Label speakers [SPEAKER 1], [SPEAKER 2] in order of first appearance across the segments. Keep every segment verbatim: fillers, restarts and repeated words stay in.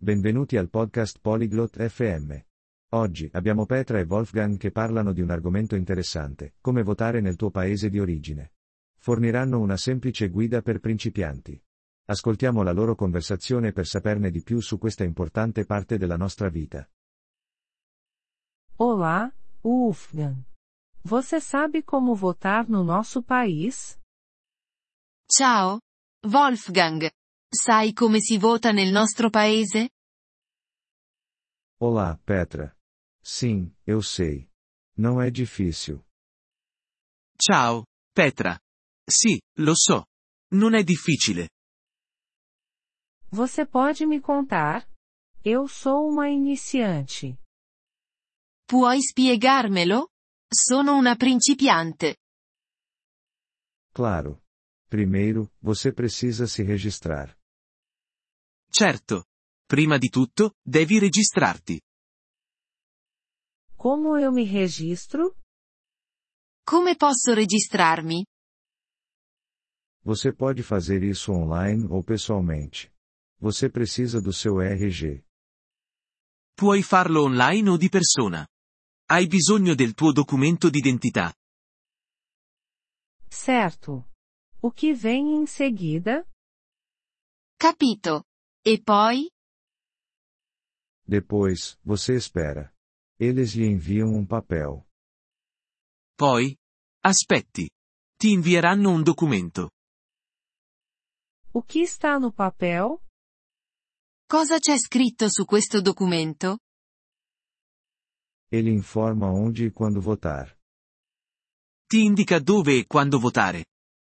[SPEAKER 1] Benvenuti al podcast Polyglot F M. Oggi abbiamo Petra e Wolfgang che parlano di un argomento interessante, come votare nel tuo paese di origine. Forniranno una semplice guida per principianti. Ascoltiamo la loro conversazione per saperne di più su questa importante parte della nostra vita.
[SPEAKER 2] Olá, Wolfgang. Você sabe como votar no nosso país?
[SPEAKER 3] Ciao, Wolfgang. Sai come si vota nel nostro paese?
[SPEAKER 1] Olá, Petra. Sim, eu sei. Não é difícil.
[SPEAKER 4] Ciao, Petra. Sì, lo so. Non è difficile.
[SPEAKER 2] Você pode me contar? Eu sou uma iniciante.
[SPEAKER 3] Puoi spiegarmelo? Sono una principiante.
[SPEAKER 1] Claro. Primeiro, você precisa se registrar.
[SPEAKER 4] Certo. Prima di tutto, devi registrarti.
[SPEAKER 2] Como eu me registro?
[SPEAKER 3] Come posso registrarmi?
[SPEAKER 1] Você pode fazer isso online ou pessoalmente. Você precisa do seu R G.
[SPEAKER 4] Puoi farlo online o di persona. Hai bisogno del tuo documento d'identità.
[SPEAKER 2] Certo. O que vem em seguida?
[SPEAKER 3] Capito. E poi?
[SPEAKER 1] Depois, você espera. Eles lhe enviam um papel.
[SPEAKER 4] Poi? Aspetti. Ti invieranno un documento.
[SPEAKER 2] O que está no papel?
[SPEAKER 3] Cosa c'è scritto su questo documento?
[SPEAKER 1] Ele informa onde e quando votar.
[SPEAKER 4] Ti indica dove e quando votare.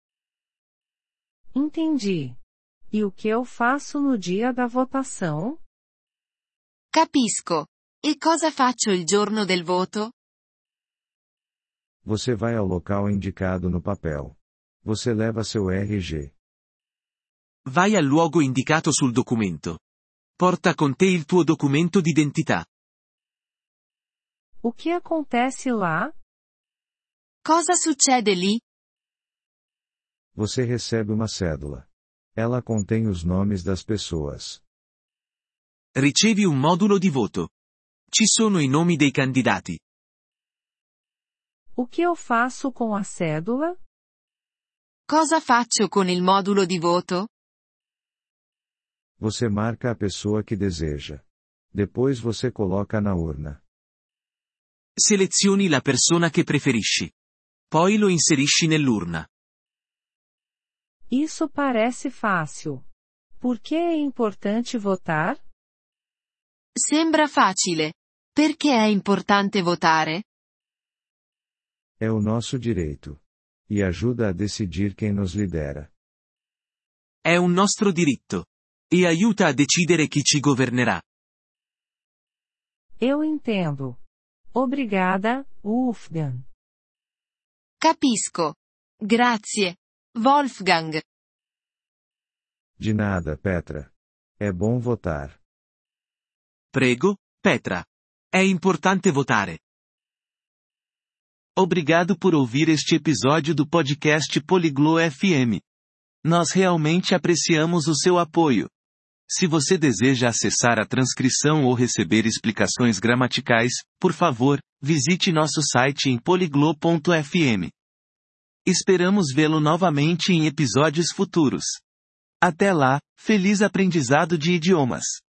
[SPEAKER 2] Entendi. E o que eu faço no dia da votação?
[SPEAKER 3] Capisco. E cosa faccio il giorno del voto?
[SPEAKER 1] Você vai ao local indicado no papel. Você leva seu R G.
[SPEAKER 4] Vai al luogo indicato sul documento. Porta con te il tuo documento d'identità.
[SPEAKER 2] O que acontece lá?
[SPEAKER 3] Cosa succede lì?
[SPEAKER 1] Você recebe uma cédula. Ela contém os nomes das pessoas.
[SPEAKER 4] Ricevi un modulo di voto. Ci sono i nomi dei candidati.
[SPEAKER 2] O que eu faço com a cédula?
[SPEAKER 3] Cosa faccio con il modulo di voto?
[SPEAKER 1] Você marca a pessoa que deseja. Depois você coloca na urna.
[SPEAKER 4] Selezioni la persona che preferisci. Poi lo inserisci nell'urna.
[SPEAKER 2] Isso parece fácil. Por que é importante votar?
[SPEAKER 3] Sembra facile. Perché è importante votare?
[SPEAKER 1] É o nosso direito. E ajuda a decidir quem nos lidera.
[SPEAKER 4] È un nostro diritto. E aiuta a decidere chi ci governerà.
[SPEAKER 2] Eu entendo. Obrigada, Wolfgang.
[SPEAKER 3] Capisco. Grazie, Wolfgang.
[SPEAKER 1] De nada, Petra. É bom votar.
[SPEAKER 4] Prego, Petra. È importante votare. Obrigado por ouvir este episódio do podcast Poliglo F M. Nós realmente apreciamos o seu apoio. Se você deseja acessar a transcrição ou receber explicações gramaticais, por favor, visite nosso site em poliglo ponto f m. Esperamos vê-lo novamente em episódios futuros. Até lá, feliz aprendizado de idiomas!